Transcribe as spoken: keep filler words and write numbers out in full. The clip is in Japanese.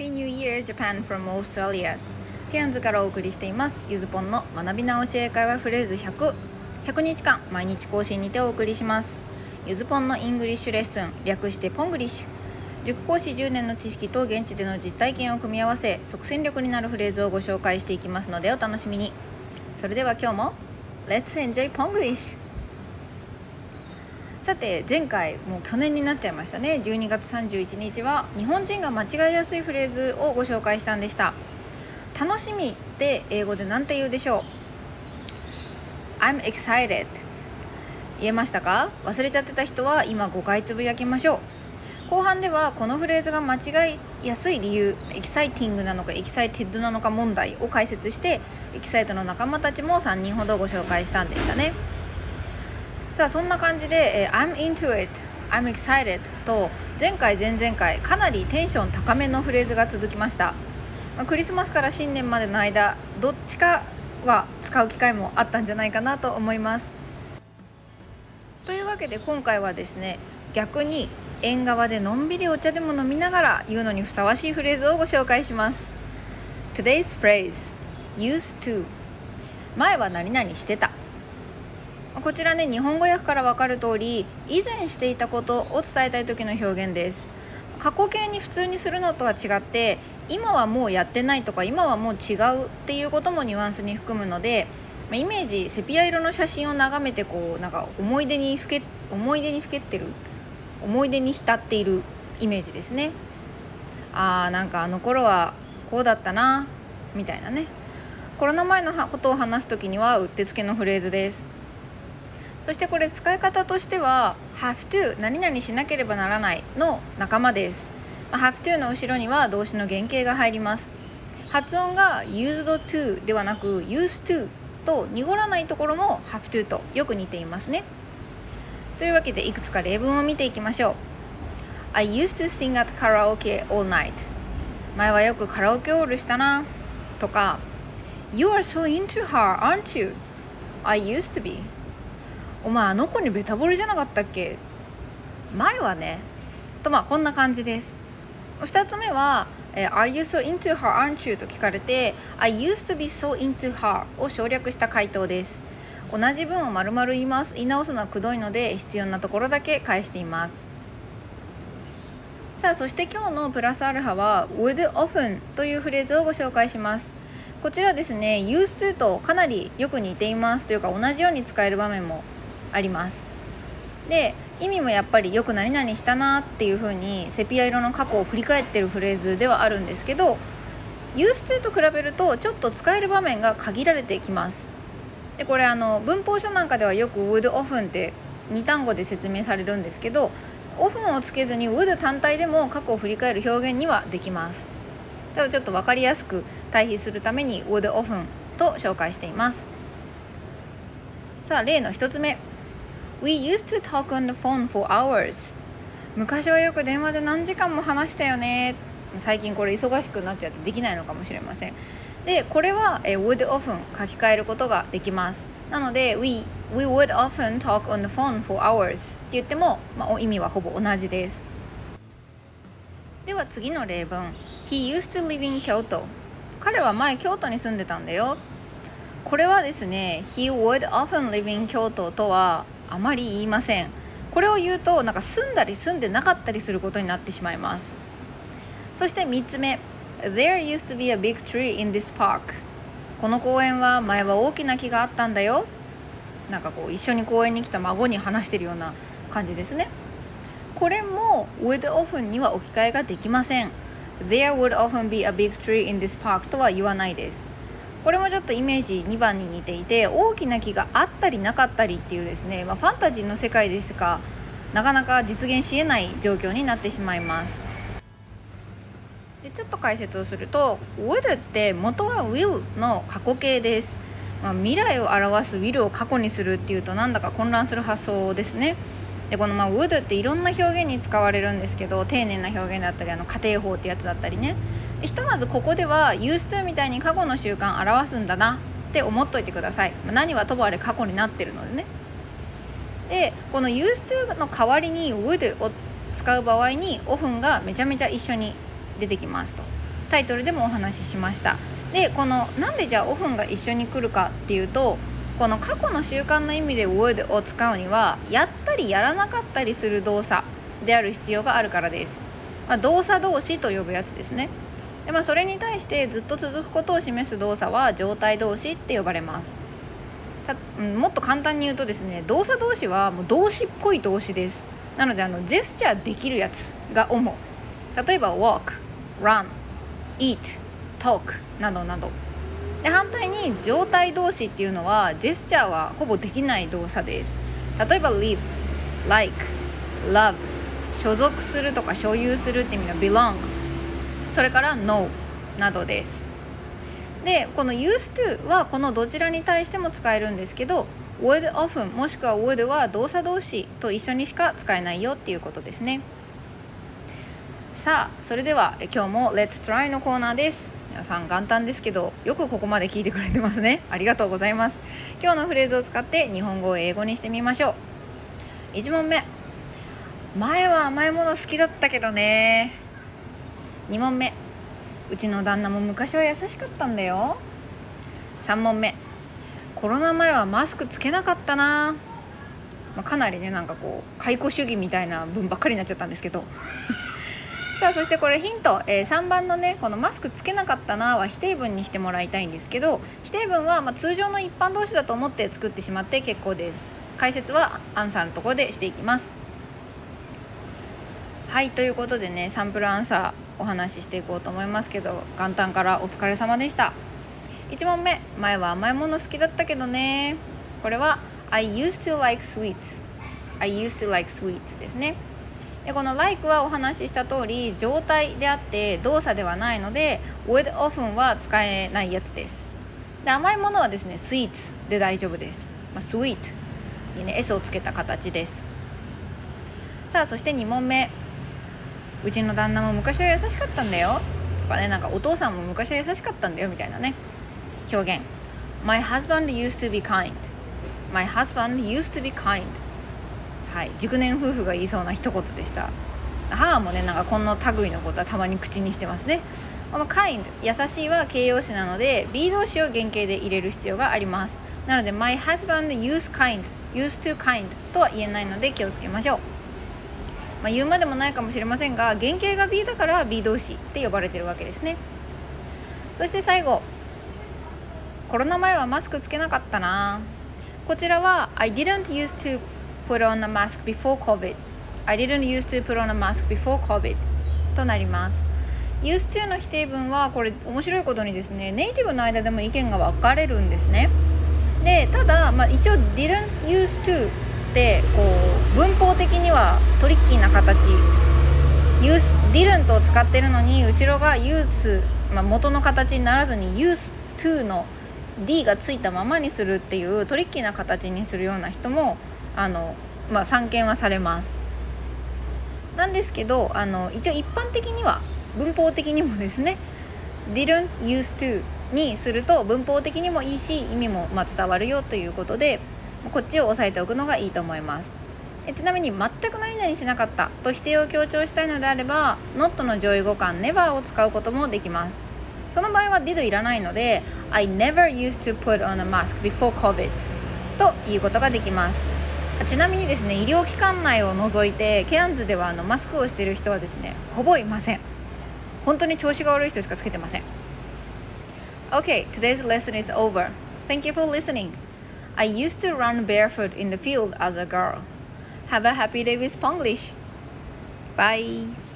Happy New Year Japan from Australia。 ケアンズからお送りしていますゆずぽんの学び直し英会話フレーズひゃく、ひゃくにちかん毎日更新にてお送りします。ゆずぽんのイングリッシュレッスン、略してポングリッシュ。塾講師じゅうねんの知識と現地での実体験を組み合わせ、即戦力になるフレーズをご紹介していきますのでお楽しみに。それでは今日も Let's enjoy Ponglish。さて前回もう去年になっちゃいましたね。じゅうにがつさんじゅういちにちは日本人が間違いやすいフレーズをご紹介したんでした。楽しみって英語で何て言うでしょう。 I'm excited 言えましたか？忘れちゃってた人は今ごかいつぶやきましょう。後半ではこのフレーズが間違いやすい理由、エキサイティングなのかエキサイテッドなのか問題を解説して、エキサイトの仲間たちもさんにんほどご紹介したんでしたね。さあそんな感じで、えー、I'm into it、 I'm excited と前回前々回かなりテンション高めのフレーズが続きました。まあ、クリスマスから新年までの間どっちかは使う機会もあったんじゃないかなと思います。というわけで今回はですね、逆に縁側でのんびりお茶でも飲みながら言うのにふさわしいフレーズをご紹介します。 Today's phrase used to、 前は何々してた。こちらね、日本語訳から分かる通り以前していたことを伝えたい時の表現です。過去形に普通にするのとは違って、今はもうやってないとか今はもう違うっていうこともニュアンスに含むので、イメージセピア色の写真を眺めてこうなんか思い出にふけ思い出にふけってる思い出に浸っているイメージですね。あーなんかあの頃はこうだったなみたいなね。コロナ前のことを話すときにはうってつけのフレーズです。そしてこれ使い方としては have to 何々しなければならないの仲間です。have to の後ろには動詞の原型が入ります。発音が used to ではなく used to と濁らないところも have to とよく似ていますね。というわけでいくつか例文を見ていきましょう。 I used to sing at karaoke all night。 前はよくカラオケオールしたなとか You are so into her, aren't you? I used to be。 お前あの子にベタ惚れじゃなかったっけ？前はねと、まあこんな感じです。ふたつめは、えー、Are you so into her, aren't you? と聞かれて I used to be so into her を省略した回答です。同じ文を丸々言います。言い直すのはくどいので必要なところだけ返しています。さあそして今日のプラスアルファは would often というフレーズをご紹介します。こちらですね used to とかなりよく似ていますというか同じように使える場面もあります。で意味もやっぱりよく何々したなっていう風にセピア色の過去を振り返ってるフレーズではあるんですけど、 used to と比べるとちょっと使える場面が限られてきます。でこれあの文法書なんかではよく would often ってに単語で説明されるんですけど、 often をつけずに would 単体でも過去を振り返る表現にはできます。ただちょっと分かりやすく対比するために would often と紹介しています。さあ例のひとつめ、 We used to talk on the phone for hours。 昔はよく電話で何時間も話したよね。最近これ忙しくなっちゃってできないのかもしれません。でこれは、えー、would often 書き換えることができます。なので we, we would often talk on the phone for hours って言っても、まあ、意味はほぼ同じです。では次の例文、 He used to live in Kyoto。 彼は前京都に住んでたんだよ。これはですね He would often live in Kyoto とはあまり言いません。これを言うとなんか住んだり住んでなかったりすることになってしまいます。そしてみっつめ、 There used to be a big tree in this park。 この公園は前は大きな木があったんだよ。なんかこう一緒に公園に来た孫に話してるような感じですね。これも would often には置き換えができません。 There would often be a big tree in this park とは言わないです。これもちょっとイメージにばんに似ていて、大きな木があったりなかったりっていうですね、まあ、ファンタジーの世界でしかなかなか実現し得ない状況になってしまいます。でちょっと解説をすると would って元は will の過去形です。まあ、未来を表す will を過去にするっていうとなんだか混乱する発想ですね。でこのまあ would っていろんな表現に使われるんですけど、丁寧な表現だったりあの家庭法ってやつだったりね。ひとまずここでは used to みたいに過去の習慣を表すんだなって思っといてください。何はともあれ過去になってるのでね。でこの used to の代わりに would を使う場合に often がめちゃめちゃ一緒に出てきますと。 タイトルでもお話ししました。でこのなんでじゃあ often が一緒に来るかっていうと、この過去の習慣の意味で would を使うにはやったりやらなかったりする動作である必要があるからです。まあ、動作動詞と呼ぶやつですね。で、まあ、それに対してずっと続くことを示す動作は状態動詞って呼ばれます。たもっと簡単に言うとですね、動作動詞はもう動詞っぽい動詞です。なのであのジェスチャーできるやつが主。例えば walk、run、eat、talk などなどで、反対に状態動詞っていうのはジェスチャーはほぼできない動作です。例えば live、like、love、所属するとか所有するって意味の belong、 それから know などです。でこの used to はこのどちらに対しても使えるんですけど、 would often もしくは would は動作動詞と一緒にしか使えないよっていうことですね。さあそれでは今日も Let's Try のコーナーです。皆さん元旦ですけどよくここまで聞いてくれてますね。ありがとうございます。今日のフレーズを使って日本語を英語にしてみましょう。いち問目、前は甘いもの好きだったけどね。に問目、うちの旦那も昔は優しかったんだよ。さん問目、コロナ前はマスクつけなかったな。まあ、かなりねなんかこう解雇主義みたいな文ばっかりになっちゃったんですけどさあそしてこれヒント、えー、さんばんのねこのマスクつけなかったなは否定文にしてもらいたいんですけど、否定文はまあ通常の一般動詞だと思って作ってしまって結構です。解説はアンサーのところでしていきます。はい、ということでねサンプルアンサーお話ししていこうと思いますけど、元旦からお疲れ様でした。いち問目、前は甘いもの好きだったけどね。これは I used to like sweets I used to like sweets ですね。でこの like はお話しした通り状態であって動作ではないので would often は使えないやつです。で甘いものはですね sweets で大丈夫です。まあ、sweet にね S をつけた形です。さあそしてに問目、うちの旦那も昔は優しかったんだよとかね、なんかお父さんも昔は優しかったんだよみたいなね表現。 My husband used to be kind My husband used to be kind、はい、熟年夫婦が言いそうな一言でした。母もねなんかこの類のことはたまに口にしてますね。この kind 優しいは形容詞なので be 動詞を原型で入れる必要があります。なので My husband used kind used to kind とは言えないので気をつけましょう。まあ、言うまでもないかもしれませんが原型が be だから be 動詞って呼ばれてるわけですね。そして最後、コロナ前はマスクつけなかったな。こちらは I didn't used to put on a mask before COVID I didn't used to put on a mask before COVID となります。 used to の否定文はこれ面白いことにですねネイティブの間でも意見が分かれるんですね。でただ、まあ、一応 didn't used to ってこう文法的にはトリッキーな形 use didn't を使ってるのに後ろが use、まあ、元の形にならずに used to の D がついたままにするっていうトリッキーな形にするような人もあの、まあ、散見はされます。なんですけどあの一応一般的には文法的にもですね didn't used to にすると文法的にもいいし意味もまあ伝わるよということでこっちを押さえておくのがいいと思います。えちなみに全く何々しなかったと否定を強調したいのであれば not の上位互換 never を使うこともできます。その場合は did いらないので I never used to put on a mask before COVID ということができます。ちなみにですね医療機関内を除いてケアンズではあのマスクをしている人はですねほぼいません。本当に調子が悪い人しかつけてません。 Okay, today's lesson is over. Thank you for listening. I used to run barefoot in the field as a girl. Have a happy day with Spanglish. Bye.